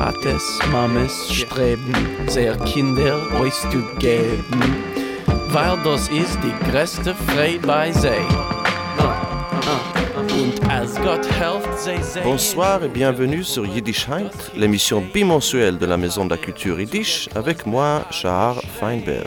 Tates, Mames streben, sehr Kinder euch zu geben, weil das ist die größte Freude bei sie. Und als Gott helft sie. Bonsoir et bienvenue sur Yiddishheit, l'émission bimensuelle de la Maison de la Culture Yiddish, avec moi, Shahar Feinberg.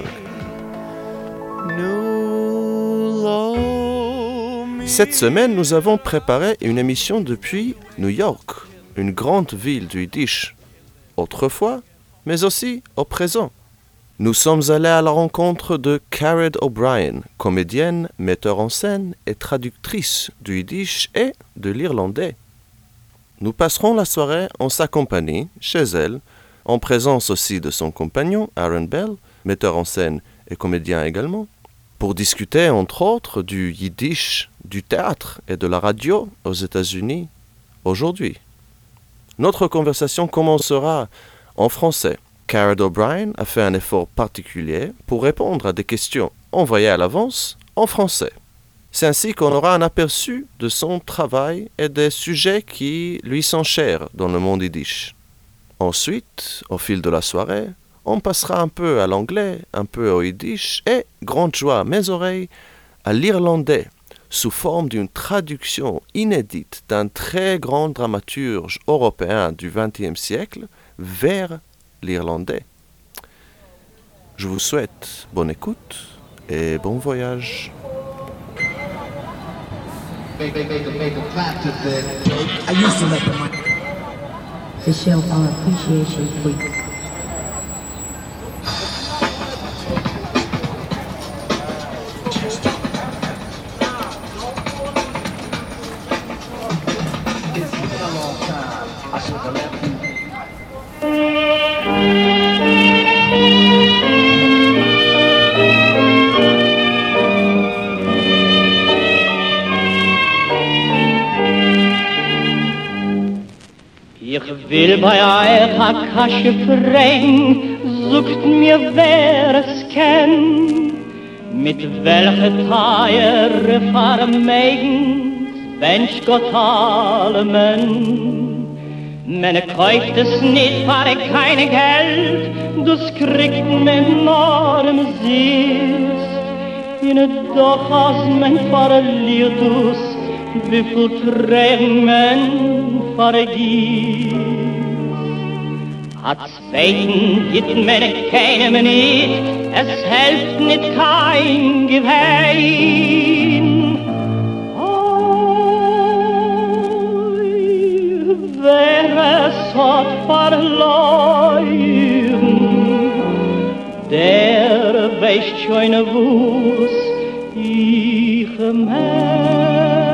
Cette semaine, nous avons préparé une émission depuis New York, une grande ville du Yiddish, autrefois, mais aussi au présent. Nous sommes allés à la rencontre de Cared O'Brien, comédienne, metteur en scène et traductrice du Yiddish et de l'irlandais. Nous passerons la soirée en sa compagnie, chez elle, en présence aussi de son compagnon, Aaron Bell, metteur en scène et comédien également, pour discuter entre autres du Yiddish, du théâtre et de la radio aux États-Unis aujourd'hui. Notre conversation commencera en français. Cared O'Brien a fait un effort particulier pour répondre à des questions envoyées à l'avance en français. C'est ainsi qu'on aura un aperçu de son travail et des sujets qui lui sont chers dans le monde yiddish. Ensuite, au fil de la soirée, on passera un peu à l'anglais, un peu au yiddish et, grande joie à mes oreilles, à l'irlandais, sous forme d'une traduction inédite d'un très grand dramaturge européen du XXe siècle vers l'irlandais. Je vous souhaite bonne écoute et bon voyage. I used to let them to show our appreciation for you. Ich will bei euch a Kasche fragen, sucht mir wer es kennt, mit welcher Teiere vermeigen, wennsch Gott allemen. Man kauft es nicht, weil keine Geld, das kriegt man nur im Süß. Und doch als man verliert es, wie viel Tränen man vergisst. Hat's Beten gibt mir keinem nicht, es hilft nicht kein Gewein. Oi, wer es hat verloren, der weiß schon, wo's ich mein.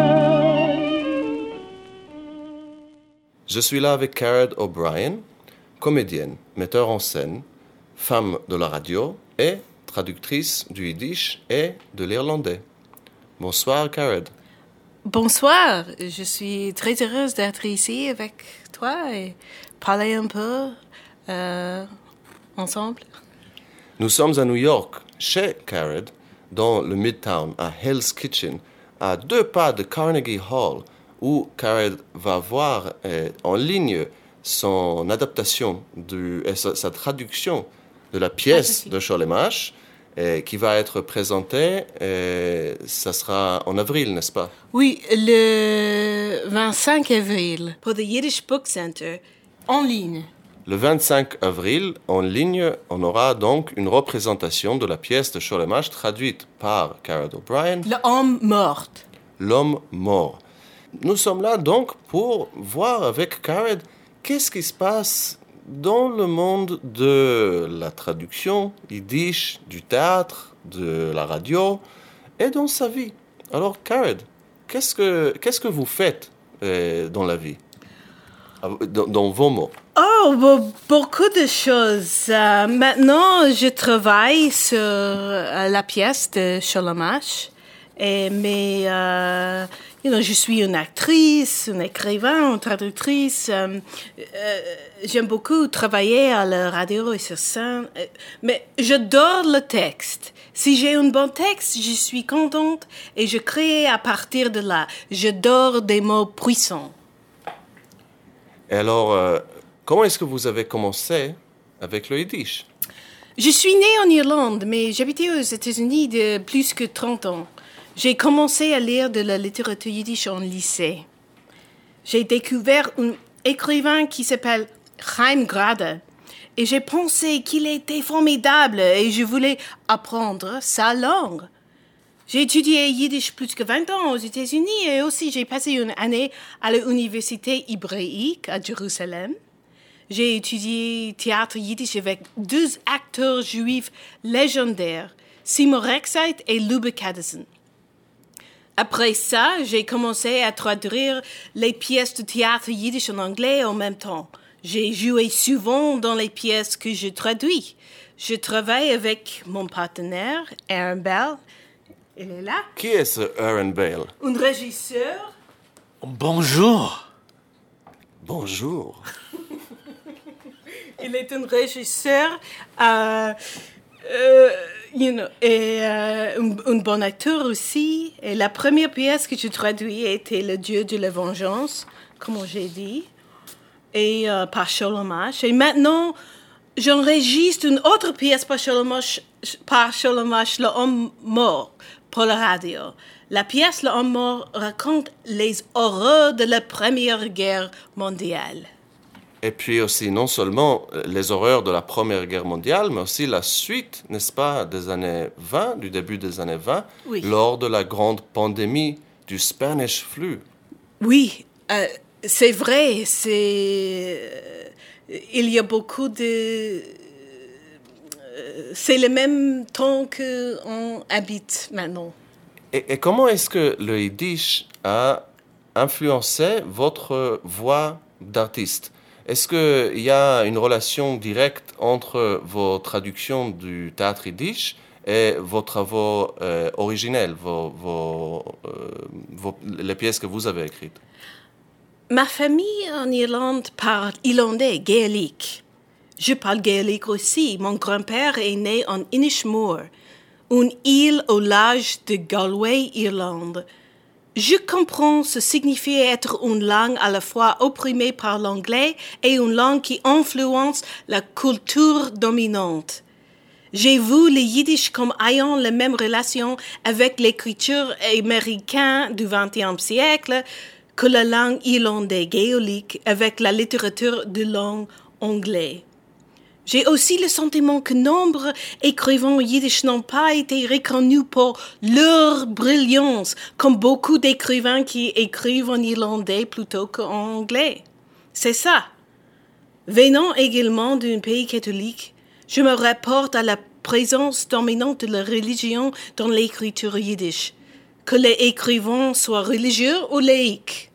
Je suis là avec Cared O'Brien, comédienne, metteur en scène, femme de la radio et traductrice du yiddish et de l'irlandais. Bonsoir, Cared. Bonsoir, je suis très heureuse d'être ici avec toi et parler un peu ensemble. Nous sommes à New York, chez Cared, dans le Midtown, à Hell's Kitchen, à 2 pas de Carnegie Hall, où Cared va voir en ligne son adaptation et sa traduction de la pièce de Cholemache, qui va être présentée, ça sera en avril, n'est-ce pas? Oui, le 25 avril, pour le Yiddish Book Center, en ligne. Le 25 avril, en ligne, on aura donc une représentation de la pièce de Cholemache traduite par Cared O'Brien. L'homme mort. L'homme mort. Nous sommes là donc pour voir avec Cared qu'est-ce qui se passe dans le monde de la traduction yiddish, du théâtre, de la radio et dans sa vie. Alors Cared, qu'est-ce que vous faites dans la vie, dans vos mots? Oh, beaucoup de choses. Maintenant, je travaille sur la pièce de Cholemache. Mais je suis une actrice, une écrivain, une traductrice. J'aime beaucoup travailler à la radio et sur scène. Mais j'adore le texte. Si j'ai un bon texte, je suis contente et je crée à partir de là. J'adore des mots puissants. Et alors, comment est-ce que vous avez commencé avec le yiddish? Je suis née en Irlande, mais j'habitais aux États-Unis de plus que 30 ans. J'ai commencé à lire de la littérature yiddish en lycée. J'ai découvert un écrivain qui s'appelle Chaim Grade et j'ai pensé qu'il était formidable et je voulais apprendre sa langue. J'ai étudié yiddish plus que 20 ans aux États-Unis et aussi j'ai passé une année à l'université hébraïque à Jérusalem. J'ai étudié théâtre yiddish avec 2 acteurs juifs légendaires, Seymour Rexheit et Lubbe Kadison. Après ça, j'ai commencé à traduire les pièces de théâtre yiddish en anglais en même temps. J'ai joué souvent dans les pièces que je traduis. Je travaille avec mon partenaire, Aaron Bell. Il est là. Qui est ce Aaron Bale? Un régisseur. Bonjour. Bonjour. Il est un régisseur et un bon acteur aussi. Et la première pièce que je traduis était Le Dieu de la vengeance, comme j'ai dit, et par Sholomach. Et maintenant, j'enregistre une autre pièce par Sholomach, Le Homme mort, pour la radio. La pièce Le Homme mort raconte les horreurs de la Première Guerre mondiale. Et puis aussi, non seulement les horreurs de la Première Guerre mondiale, mais aussi la suite, n'est-ce pas, des années 20, du début des années 20, oui. Lors de la grande pandémie du Spanish flu. Oui, c'est vrai. Il y a beaucoup de... c'est le même temps qu'on habite maintenant. Et comment est-ce que le yiddish a influencé votre voix d'artiste? Est-ce qu'il y a une relation directe entre vos traductions du théâtre yiddish et vos travaux originels, les pièces que vous avez écrites? Ma famille en Irlande parle irlandais, gaélique. Je parle gaélique aussi. Mon grand-père est né en Inishmore, une île au large de Galway, Irlande. Je comprends ce signifie être une langue à la fois opprimée par l'anglais et une langue qui influence la culture dominante. J'ai vu le yiddish comme ayant la même relation avec l'écriture américaine du XXe siècle que la langue irlandaise gaélique avec la littérature de langue anglaise. J'ai aussi le sentiment que nombreux écrivains yiddish n'ont pas été reconnus pour leur brillance, comme beaucoup d'écrivains qui écrivent en irlandais plutôt qu'en anglais. C'est ça. Venant également d'un pays catholique, je me rapporte à la présence dominante de la religion dans l'écriture yiddish, que les écrivains soient religieux ou laïcs.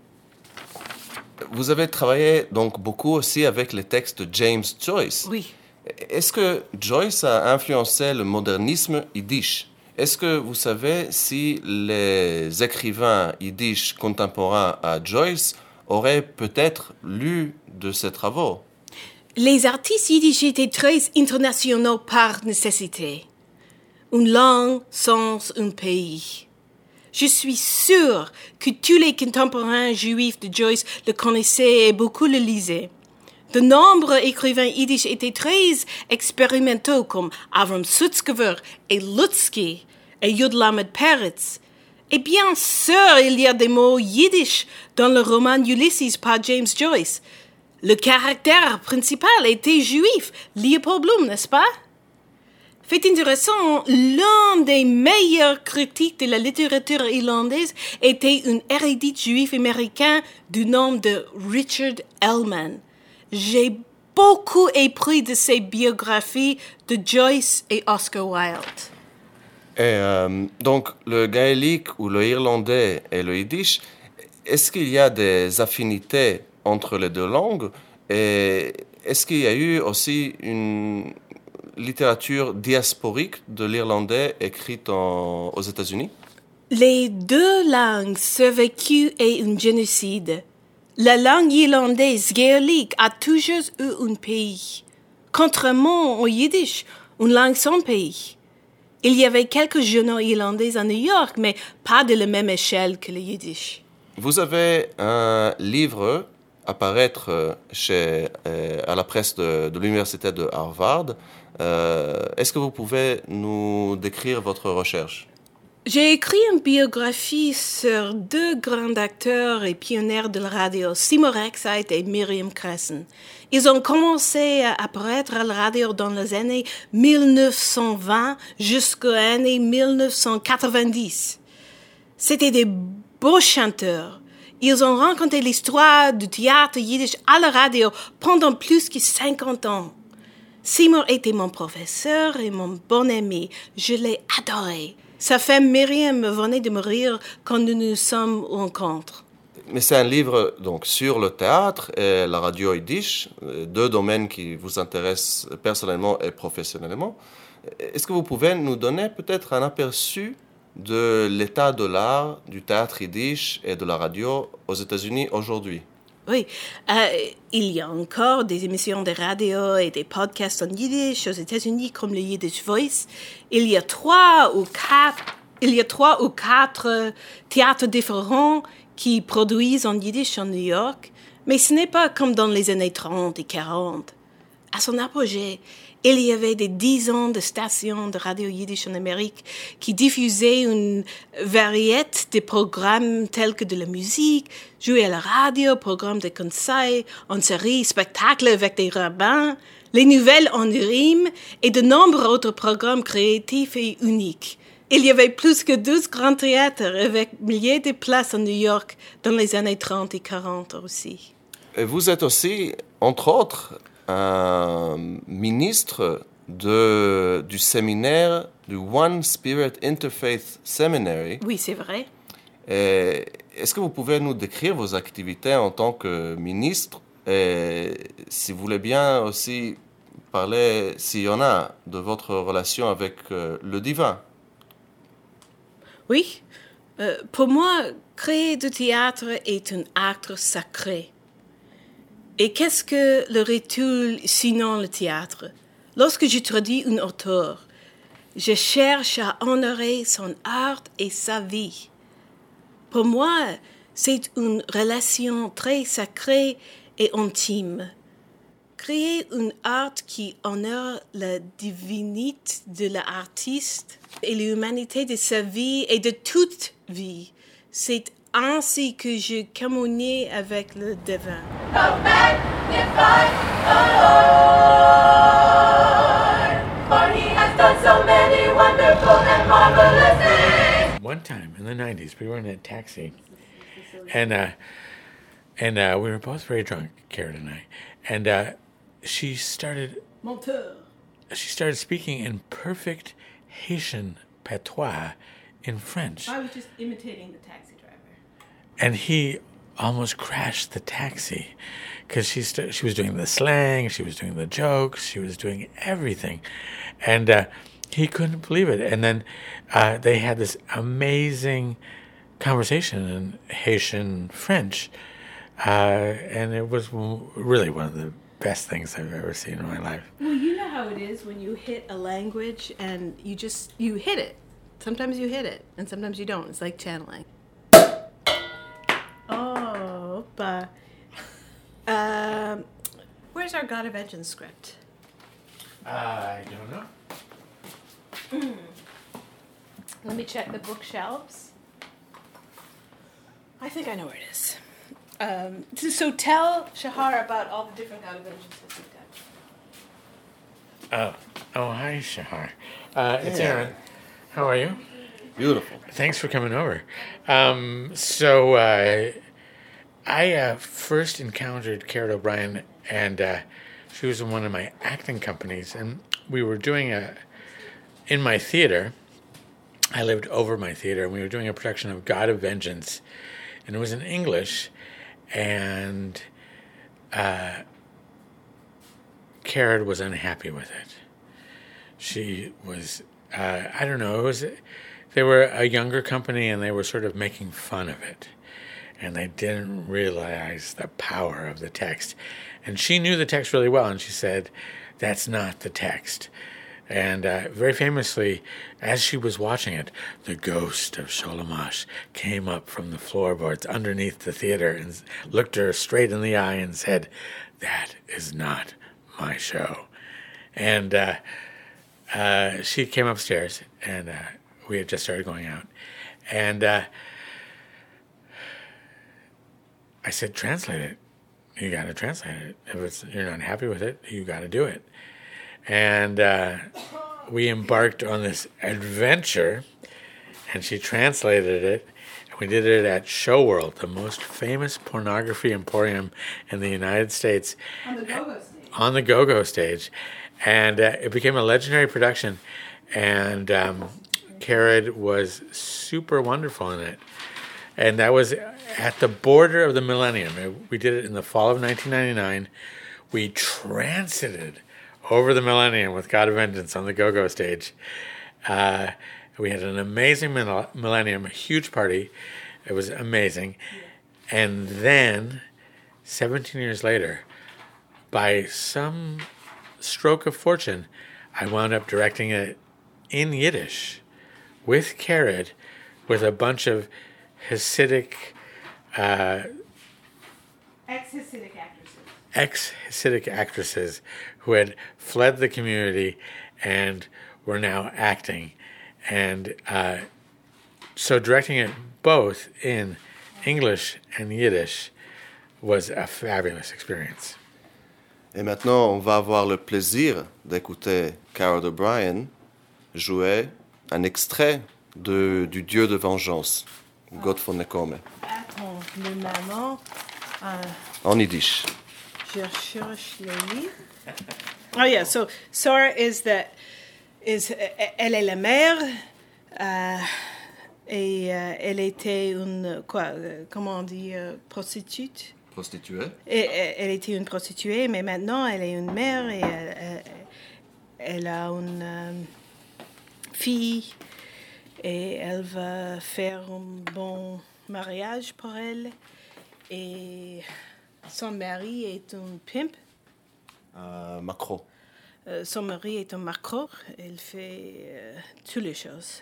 Vous avez travaillé donc beaucoup aussi avec les textes de James Joyce. Oui. Est-ce que Joyce a influencé le modernisme yiddish? Est-ce que vous savez si les écrivains yiddish contemporains à Joyce auraient peut-être lu de ses travaux? Les artistes yiddish étaient très internationaux par nécessité. Une langue sans un pays. Je suis sûre que tous les contemporains juifs de Joyce le connaissaient et beaucoup le lisaient. De nombreux écrivains yiddish étaient très expérimentaux comme Avram Sutzkever et Lutzky et Yud Lamed Peretz. Et bien sûr, il y a des mots yiddish dans le roman Ulysses par James Joyce. Le caractère principal était juif, Leopold Bloom, n'est-ce pas? Fait intéressant, l'un des meilleurs critiques de la littérature irlandaise était un érudit juif américain du nom de Richard Ellman. J'ai beaucoup appris de ses biographies de Joyce et Oscar Wilde. Et donc, le gaélique ou le irlandais et le yiddish, est-ce qu'il y a des affinités entre les deux langues? Et est-ce qu'il y a eu aussi une littérature diasporique de l'irlandais écrite aux États-Unis? Les deux langues survécues à un génocide. La langue irlandaise gaélique a toujours eu un pays. Contrairement au yiddish, une langue sans pays. Il y avait quelques journaux irlandais à New York, mais pas de la même échelle que le yiddish. Vous avez un livre apparaître à la presse de l'université de Harvard. Est-ce que vous pouvez nous décrire votre recherche? J'ai écrit une biographie sur deux grands acteurs et pionniers de la radio, Seymour Excite et Miriam Cresson. Ils ont commencé à apparaître à la radio dans les années 1920 jusqu'aux années 1990. C'était des beaux chanteurs. Ils ont raconté l'histoire du théâtre yiddish à la radio pendant plus de 50 ans. Seymour était mon professeur et mon bon ami. Je l'ai adoré. Sa femme Myriam venait de mourir quand nous nous sommes rencontrés. Mais c'est un livre donc, sur le théâtre et la radio yiddish, deux domaines qui vous intéressent personnellement et professionnellement. Est-ce que vous pouvez nous donner peut-être un aperçu de l'état de l'art du théâtre yiddish et de la radio aux États-Unis aujourd'hui? Oui, il y a encore des émissions de radio et des podcasts en yiddish aux États-Unis comme le Yiddish Voice. Il y a trois ou quatre théâtres différents qui produisent en yiddish en New York, mais ce n'est pas comme dans les années 30 et 40. À son apogée, il y avait des dizaines de stations de radio yiddish en Amérique qui diffusaient une variété de programmes tels que de la musique, jouer à la radio, programmes de conseils, en série, spectacles avec des rabbins, les nouvelles en rime et de nombreux autres programmes créatifs et uniques. Il y avait plus que 12 grands théâtres avec milliers de places en New York dans les années 30 et 40 aussi. Et vous êtes aussi, entre autres, un ministre du séminaire du One Spirit Interfaith Seminary. Oui, c'est vrai. Et est-ce que vous pouvez nous décrire vos activités en tant que ministre et si vous voulez bien aussi parler, s'il y en a, de votre relation avec le divin? Oui. Pour moi, créer du théâtre est un acte sacré. Et qu'est-ce que le rituel sinon le théâtre? Lorsque je traduis un auteur, je cherche à honorer son art et sa vie. Pour moi, c'est une relation très sacrée et intime. Créer un art qui honore la divinité de l'artiste et l'humanité de sa vie et de toute vie, c'est ainsi que je communie avec le divin. Oh, magnify the Lord, for he has done so many wonderful and marvelous things. One time in the 90s, we were in a taxi, and we were both very drunk, Karen and I, and she started speaking in perfect Haitian patois in French. I was just imitating the taxi driver. And he almost crashed the taxi because she was doing the slang, she was doing the jokes, she was doing everything. And he couldn't believe it. And then they had this amazing conversation in Haitian French. And it was really one of the best things I've ever seen in my life. Well, you know how it is when you hit a language and you hit it. Sometimes you hit it and sometimes you don't. It's like channeling. Oh, but where's our God of Vengeance script? I don't know. Let me check the bookshelves. I think I know where it is. So tell Shahar about all the different God of Vengeances we've done. Oh, hi, Shahar. It's Aaron. How are you? Beautiful. Thanks for coming over. So I first encountered Karen O'Brien, and she was in one of my acting companies, and we were doing in my theater. I lived over my theater, and we were doing a production of God of Vengeance, and it was in English, and Karen was unhappy with it. She was, I don't know, they were a younger company, and they were sort of making fun of it. And they didn't realize the power of the text. And she knew the text really well, and she said, that's not the text. And very famously, as she was watching it, the ghost of Sholamash came up from the floorboards underneath the theater and looked her straight in the eye and said, "That is not my show." And she came upstairs, and we had just started going out. And I said, "Translate it. You got to translate it. If you're not happy with it, you got to do it." And we embarked on this adventure, and she translated it, and we did it at Show World, the most famous pornography emporium in the United States. On the go-go stage. On the go-go stage. And it became a legendary production, and Carrad was super wonderful in it. And that was at the border of the millennium. We did it in the fall of 1999. We transited over the millennium with God of Vengeance on the go-go stage. We had an amazing millennium, a huge party. It was amazing. And then, 17 years later, by some stroke of fortune, I wound up directing it in Yiddish with Carrad, with a bunch of Hasidic... ex-Hasidic actresses who had fled the community and were now acting. And so directing it both in English and Yiddish was a fabulous experience. Et maintenant, on va avoir le plaisir d'écouter Carrad O'Brien jouer un extrait du Dieu de vengeance, Gott von Nekome. Attends, mais maman... En Yiddish. Je cherche le livre. Oh yeah, so Sarah elle est la mère, et elle était une, comment on dit, prostituée. Prostituée. Elle était une prostituée, mais maintenant elle est une mère et elle a une fille et elle va faire un bon mariage pour elle. Et son mari est un pimp. Macro. Son mari est un macro. Il fait toutes les choses.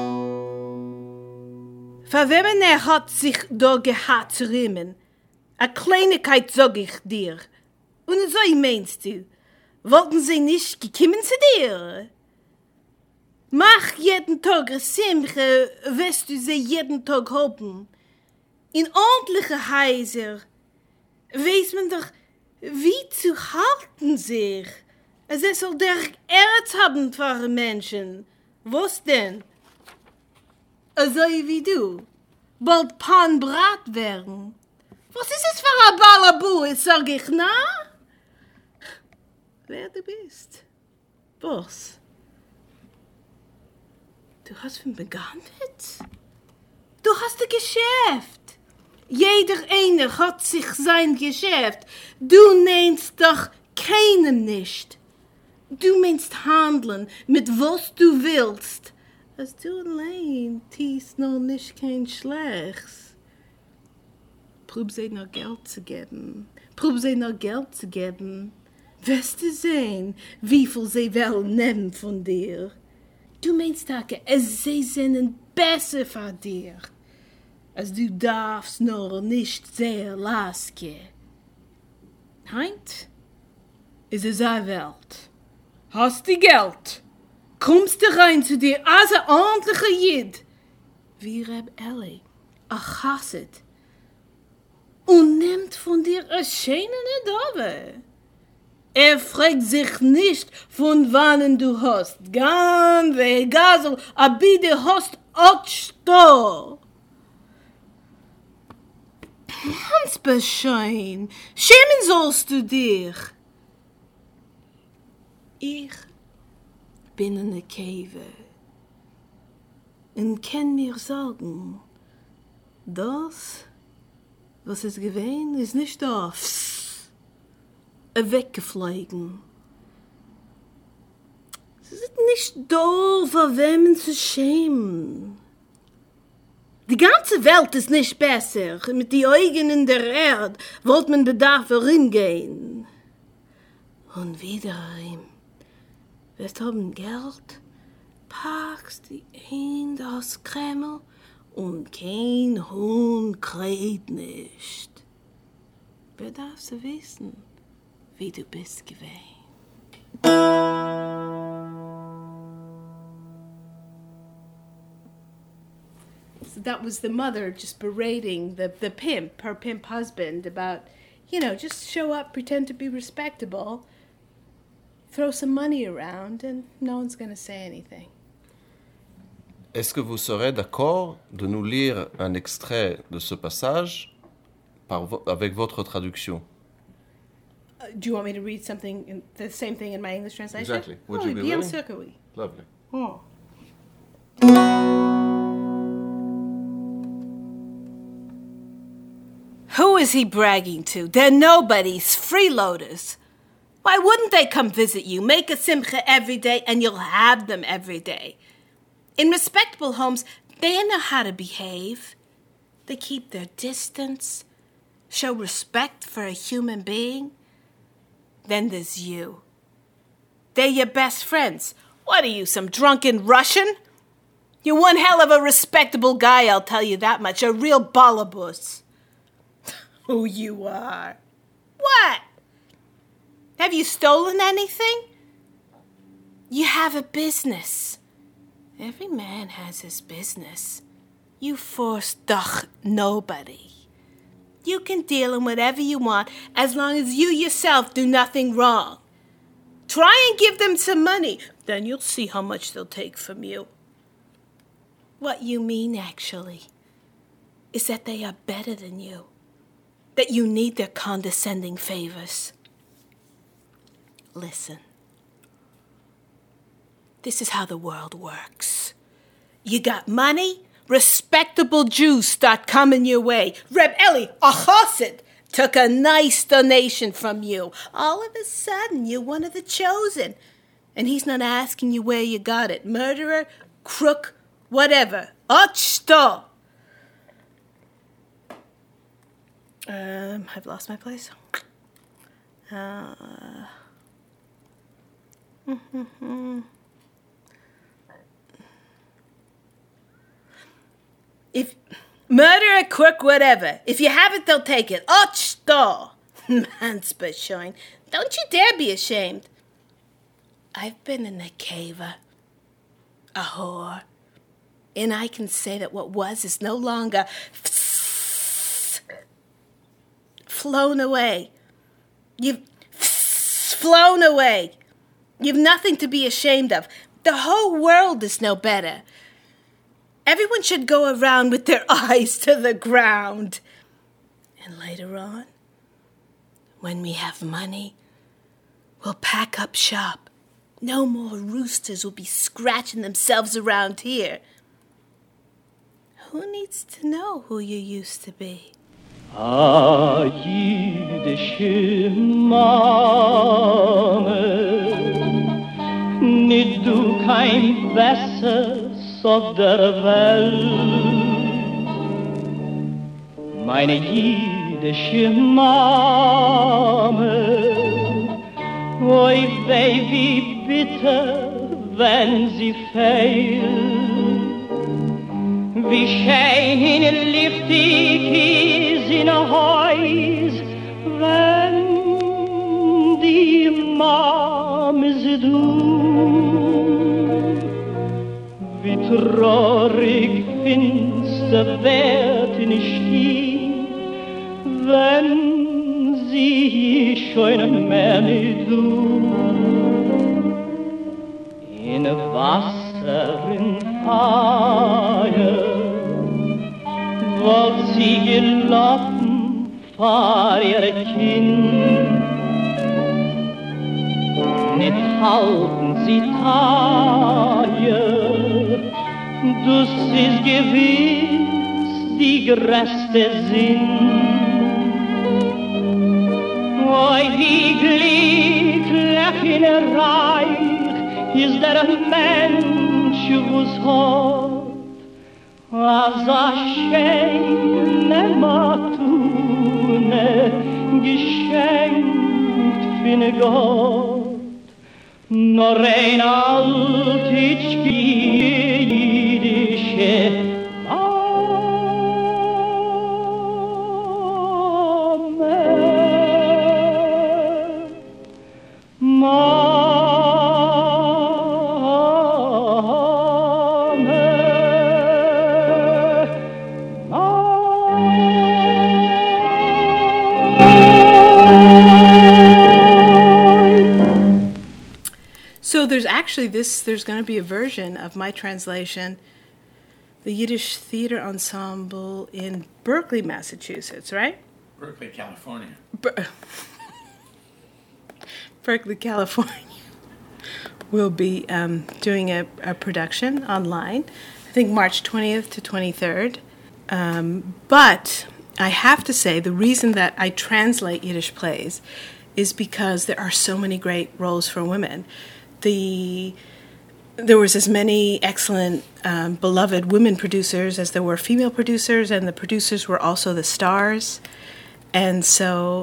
Verwemmen hat sich da gehabt zu riemen. A Kleinigkeit sag ich dir. Und so meinst du? Wollten sie nicht gekommen zu dir? Mach jeden Tag eine Simche, wirst du sie jeden Tag haben. In ordentliche Häuser weiß man doch, wie zu halten sich. Es soll der Erz haben für Menschen. Was denn? So wie du. Bald Pan Brat werden. Was ist es für ein Balabu, sag ich, na? Wer du bist? Was? Du hast von begonnen? Du hast ein Geschäft. Jeder eine hat sich sein Geschäft. Du nennst doch keinem nicht. Du meinst handeln mit was du willst. Als du allein tiest noch nicht kein Schlechtes. Prob sie noch Geld zu geben. Wirst du sehen, wie viel sie wollen nehmen von dir. Du meinst, Tage, sie sind besser für dir. Als du darfst nur nicht sehr lassen. Heint ist es eine Welt. Hast du Geld? Kommst du rein zu dir als ein ordentlicher Jid. Wie Reb Eli, a Chassid. Und nimmt von dir eine schöne Dove. Fragt sich nicht, von wann du hast. Gan vegazel, aber du hast auch Ganz beschein, schämen sollst du dich. Ich bin in der Cave und kann mir sagen, das, was es gewesen ist, nicht das, weggeflogen. Es ist nicht da, für wem zu schämen. Die ganze Welt ist nicht besser. Mit den Augen in der Erde wollte man Bedarf herimgehen. Und wiederum, Wir haben Geld, packst die in das Kreml und kein Huhn kräht nicht. Wer darf's wissen, wie du bist gewesen? So that was the mother just berating the pimp, her pimp husband, about, just show up, pretend to be respectable, throw some money around, and no one's going to say anything. Est-ce que vous serez d'accord de nous lire un extrait de ce passage avec votre traduction? Do you want me to read something, the same thing in my English translation? Exactly. Would you be bien willing? sûr que oui. Lovely. Oh. Who is he bragging to? They're nobodies, freeloaders. Why wouldn't they come visit you? Make a simcha every day and you'll have them every day. In respectable homes, they know how to behave. They keep their distance, show respect for a human being. Then there's you. They're your best friends. What are you, some drunken Russian? You're one hell of a respectable guy, I'll tell you that much. A real balabus. Who you are. What? Have you stolen anything? You have a business. Every man has his business. You force doch nobody. You can deal in whatever you want as long as you yourself do nothing wrong. Try and give them some money. Then you'll see how much they'll take from you. What you mean, actually, is that they are better than you. That you need their condescending favors. Listen. This is how the world works. You got money, respectable Jews start coming your way. Reb Eli, a chassid, took a nice donation from you. All of a sudden, you're one of the chosen. And he's not asking you where you got it. Murderer, crook, whatever. Ot shto. I've lost my place. If murderer, crook, whatever. If you have it, they'll take it. Ot shto. Mansbashoin. Don't you dare be ashamed. I've been in a caver, a whore, and I can say that what was is no longer flown away. You've flown away. You've nothing to be ashamed of. The whole world is no better. Everyone should go around with their eyes to the ground. And later on, when we have money, we'll pack up shop. No more roosters will be scratching themselves around here. Who needs to know who you used to be? Ah, jüdische Mame, nicht du kein Besseres auf der Welt. Meine jüdische Mame, oi weh, wie bitter, wenn sie fehlt. Wie schön und lichtig ist in ein Haus, wenn die Mama sie tut. Wie traurig finster wird in Stieg, wenn sie schon mehr nicht tut. In Wasser, in Feuer, wollt sie gelaufen vor ihr Kind. Nicht halten sie teuer, das ist gewiss die größte Sinn. Oi, wie glücklich in Reich ist der Mensch, was hat, als schöne Matune geschenkt von Gott. Nur einer So there's going to be a version of my translation, the Yiddish Theater Ensemble in Berkeley, Massachusetts, right? Berkeley, California. Berkeley, California will be doing a production online, I think March 20th to 23rd. But I have to say, the reason that I translate Yiddish plays is because there are so many great roles for women. There was as many excellent, beloved women producers as there were female producers, and the producers were also the stars. And so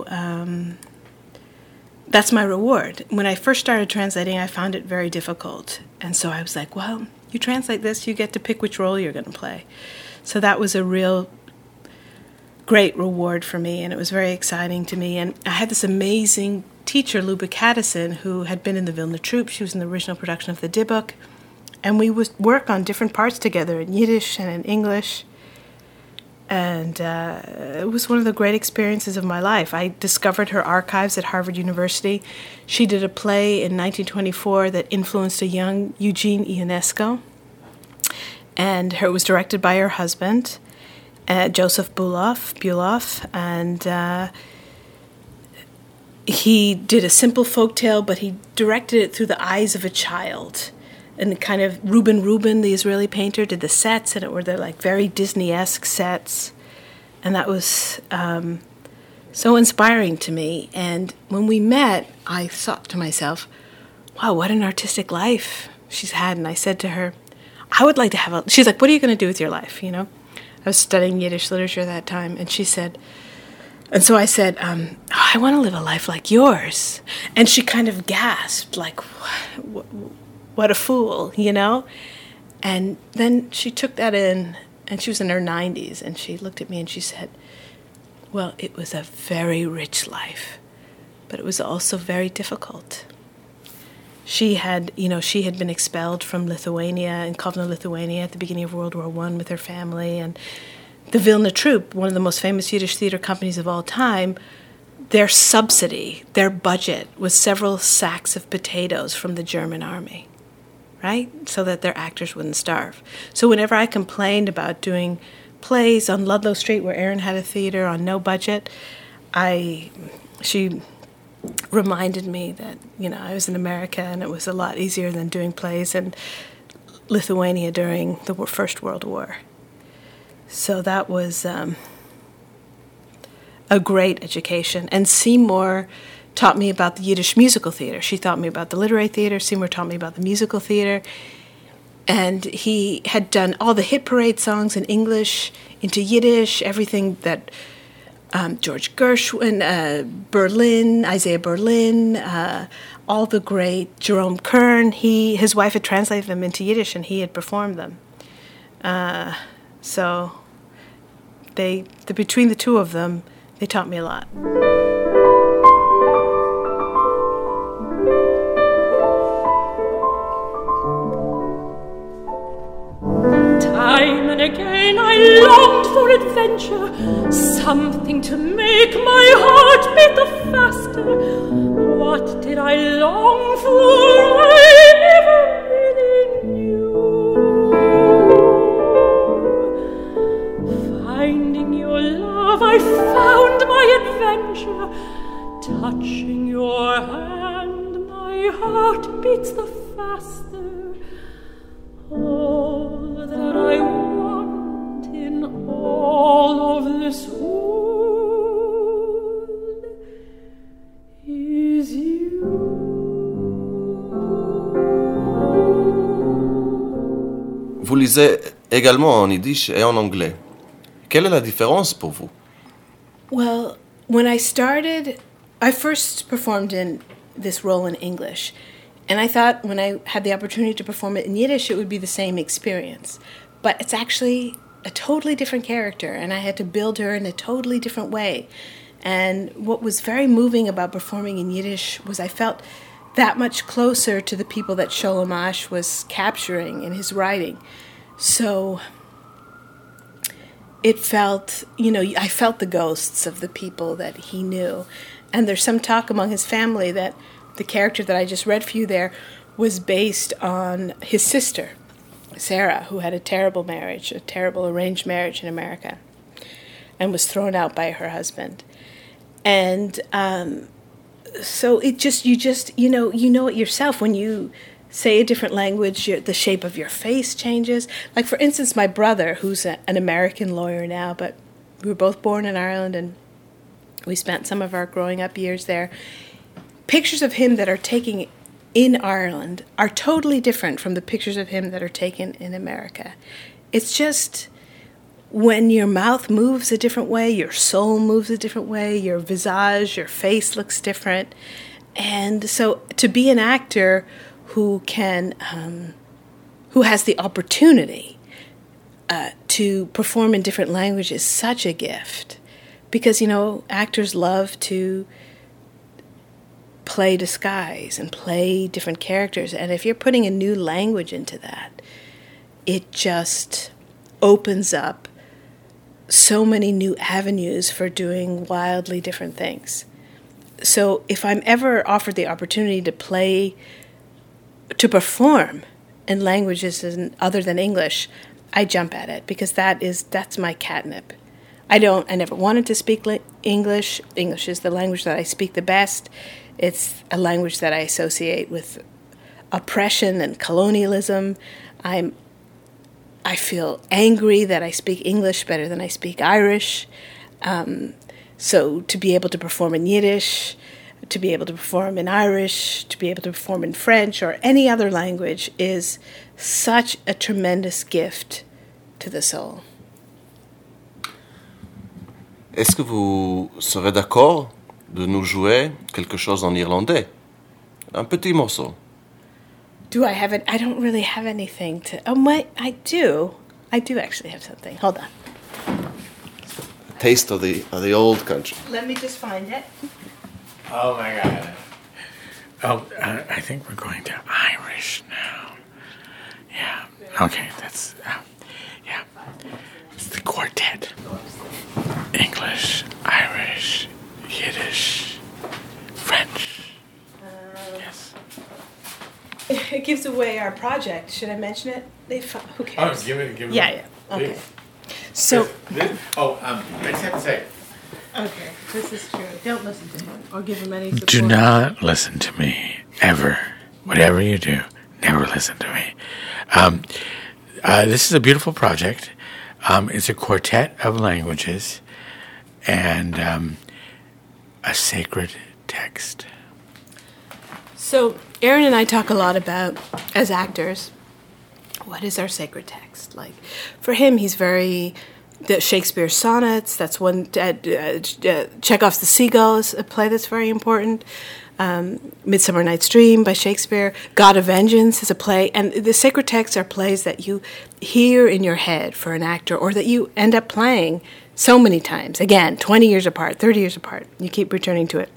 that's my reward. When I first started translating, I found it very difficult. And so I was like, well, you translate this, you get to pick which role you're going to play. So that was a real great reward for me, and it was very exciting to me. And I had this amazing teacher, Luba Caddison, who had been in the Vilna Troupe. She was in the original production of the Dybbuk. And we would work on different parts together in Yiddish and in English. And it was one of the great experiences of my life. I discovered her archives at Harvard University. She did a play in 1924 that influenced a young Eugene Ionesco. And it was directed by her husband, Joseph Buloff. And he did a simple folktale, but he directed it through the eyes of a child. And kind of Reuben, the Israeli painter, did the sets, and it were like very Disney-esque sets. And that was so inspiring to me. And when we met, I thought to myself, wow, what an artistic life she's had. And I said to her, I would like to have a... She's like, what are you going to do with your life, you know? I was studying Yiddish literature at that time, and she said... And so I said, I want to live a life like yours. And she kind of gasped, like, what a fool, you know? And then she took that in, and she was in her 90s, and she looked at me and she said, well, it was a very rich life, but it was also very difficult. She had been expelled from Lithuania, in Kovno, Lithuania, at the beginning of World War I with her family, and the Vilna Troupe, one of the most famous Yiddish theater companies of all time, their subsidy, their budget was several sacks of potatoes from the German army, right? So that their actors wouldn't starve. So whenever I complained about doing plays on Ludlow Street, where Aaron had a theater on no budget, she reminded me that, you know, I was in America and it was a lot easier than doing plays in Lithuania during the First World War. So that was a great education. And Seymour taught me about the Yiddish musical theater. She taught me about the literary theater. Seymour taught me about the musical theater. And he had done all the hit parade songs in English into Yiddish, everything that George Gershwin, Berlin, Isaiah Berlin, all the great, Jerome Kern. His wife had translated them into Yiddish, and he had performed them. So between the two of them, they taught me a lot. Time and again I longed for adventure, something to make my heart beat the faster. What did I long for? I never really knew. Finding your love, I found my adventure. Touching your hand, my heart beats the faster. All that I want in all of this world is you. Vous lisez également en yiddish et en anglais. Quelle est la différence pour vous? Well, when I started, I first performed in this role in English. And I thought when I had the opportunity to perform it in Yiddish, it would be the same experience. But it's actually a totally different character, and I had to build her in a totally different way. And what was very moving about performing in Yiddish was I felt that much closer to the people that Sholem Asch was capturing in his writing. So it felt, I felt the ghosts of the people that he knew. And there's some talk among his family that the character that I just read for you there was based on his sister, Sarah, who had a terrible marriage, a terrible arranged marriage in America, and was thrown out by her husband. And so you know it yourself when you say a different language, the shape of your face changes. Like, for instance, my brother, who's an American lawyer now, but we were both born in Ireland and we spent some of our growing up years there. Pictures of him that are taken in Ireland are totally different from the pictures of him that are taken in America. It's just when your mouth moves a different way, your soul moves a different way, your visage, your face looks different. And so to be an actor who has the opportunity to perform in different languages is such a gift. Because, actors love to play disguise and play different characters. And if you're putting a new language into that, it just opens up so many new avenues for doing wildly different things. So if I'm ever offered the opportunity to perform in languages other than English, I jump at it because that's my catnip. I never wanted to speak English. English is the language that I speak the best. It's a language that I associate with oppression and colonialism. I feel angry that I speak English better than I speak Irish. So to be able to perform in Yiddish, to be able to perform in Irish, to be able to perform in French or any other language is such a tremendous gift to the soul. Est-ce que vous serez d'accord de nous jouer quelque chose en irlandais? Un petit morceau. Do I have it? I don't really have anything to... I do. I do actually have something. Hold on. A taste of the old country. Let me just find it. Oh, my God. Oh, I think we're going to Irish now. Yeah. Okay, that's... yeah. It's the quartet. English, Irish, Yiddish, French. Yes. It gives away our project. Should I mention it? Who cares? Oh, give it. Yeah. Okay. Please. So. I just have to say. Okay, this is true. Don't listen to him or give him any support. Do not listen to me, ever. Whatever you do, never listen to me. This is a beautiful project. It's a quartet of languages and a sacred text. So Aaron and I talk a lot about, as actors, what is our sacred text? Like, for him, he's very... The Shakespeare sonnets, that's one. Chekhov's The Seagull is a play that's very important. Midsummer Night's Dream by Shakespeare. God of Vengeance is a play. And the sacred texts are plays that you hear in your head for an actor or that you end up playing so many times. Again, 20 years apart, 30 years apart. You keep returning to it.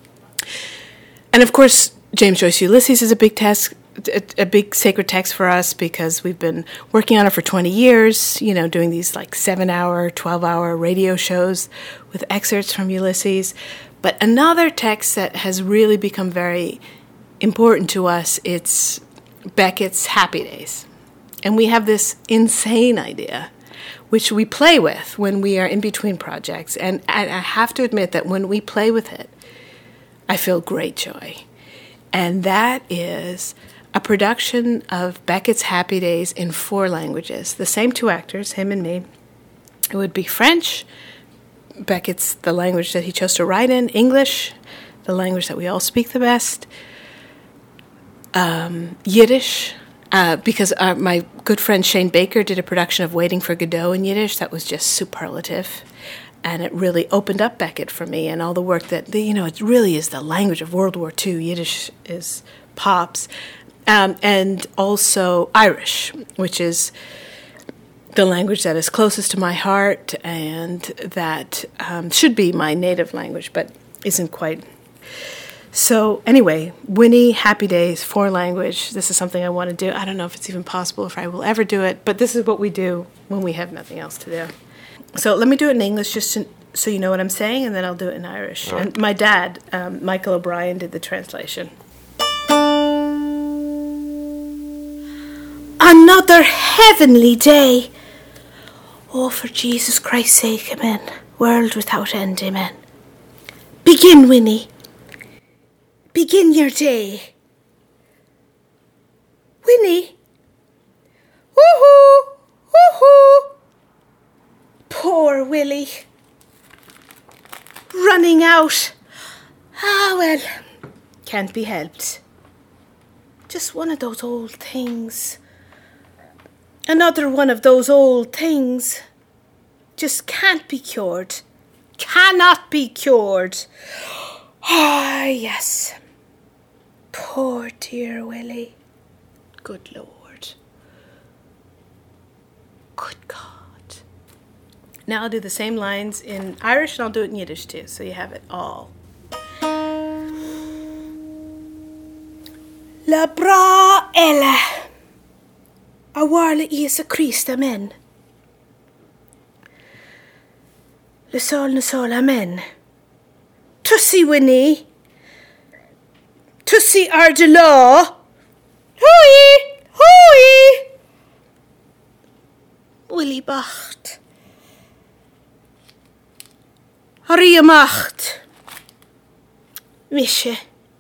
And of course, James Joyce Ulysses is a big sacred text for us because we've been working on it for 20 years, doing these like 7-hour, 12-hour radio shows with excerpts from Ulysses. But another text that has really become very important to us, it's Beckett's Happy Days. And we have this insane idea, which we play with when we are in between projects. And I have to admit that when we play with it, I feel great joy. And that is a production of Beckett's Happy Days in 4 languages. The same 2 actors, him and me. It would be French, Beckett's the language that he chose to write in, English, the language that we all speak the best, Yiddish, because my good friend Shane Baker did a production of Waiting for Godot in Yiddish that was just superlative. And it really opened up Beckett for me and all the work that, it really is the language of World War II. Yiddish is pops. And also Irish, which is the language that is closest to my heart and that should be my native language, but isn't quite. So anyway, Winnie, Happy Days, 4 language. This is something I want to do. I don't know if it's even possible, if I will ever do it, but this is what we do when we have nothing else to do. So let me do it in English just so you know what I'm saying, and then I'll do it in Irish. Right. And my dad, Michael O'Brien, did the translation. Another heavenly day. Oh, for Jesus Christ's sake, amen. World without end, amen. Begin, Winnie. Begin your day. Winnie. Woohoo! Woohoo! Poor Willie. Running out. Ah, well, can't be helped. Just one of those old things. Another one of those old things. Just can't be cured. Cannot be cured. Ah, yes. Poor dear Willie. Good Lord. Good God. Now I'll do the same lines in Irish and I'll do it in Yiddish too, so you have it all. La bra ella. A warle Jesu Christ, amen. Le sol, amen. Tussie Winnie. Tussie Ardelaw. Hooey, hooey. Willie Bacht. Harry Macht. Mische.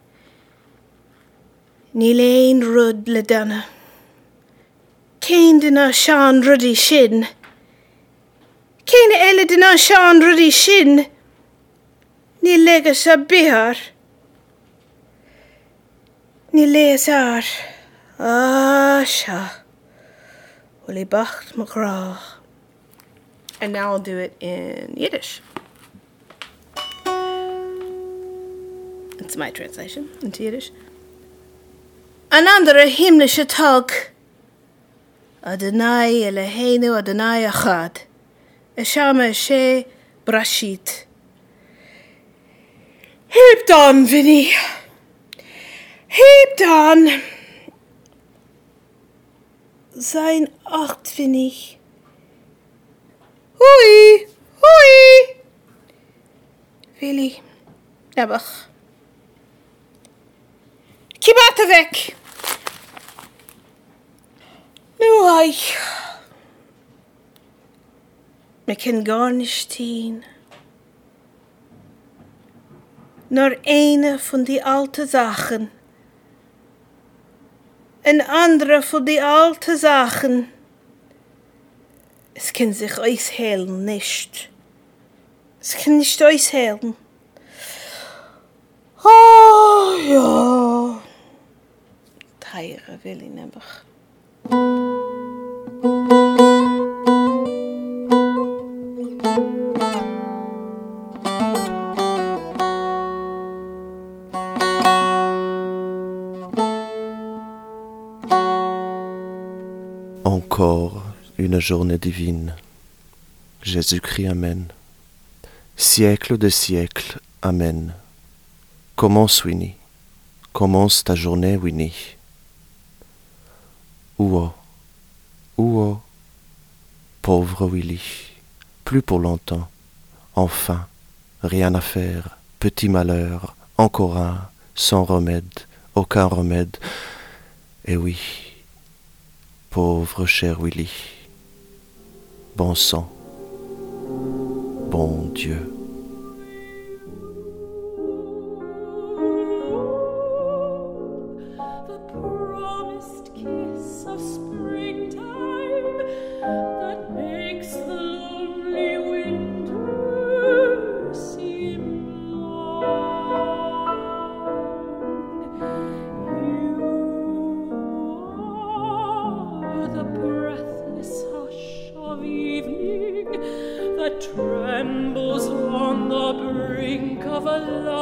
Nilain Rud le Dana. Cain dina Sean Ruddy Shin. Cain Ella dina Sean Ruddy Shin. Ni legas a bihar. Ni leas ar. Ah, sha. Willie Bacht McGraw. And now I'll do it in Yiddish. It's my translation into Yiddish. An andere himmlische Tag. Adonai Eloheinu Adonai Echad. Esham Eshe Brashit. Hebt on, Vinnie. Hebt on. Sein acht, Vinnie. Hui, hui. Willie. Nebach. Kibata weg. Nu ai. Me ken gar nicht tien. Nur eine von die alte Sachen. Een andere von die alte Sachen. Es kann sich ausheilen nicht. Es kann nicht ausheilen. Oh, ja. Teire will ich nebach. Encore une journée divine. Jésus-Christ, Amen. Siècle de siècle, Amen. Commence, Winnie. Commence ta journée, Winnie. Ouah, ouah, pauvre Willie. Plus pour longtemps. Enfin, rien à faire. Petit malheur, encore un, sans remède, aucun remède. Et oui, pauvre cher Willie. Bon sang, bon Dieu. Trembles on the brink of a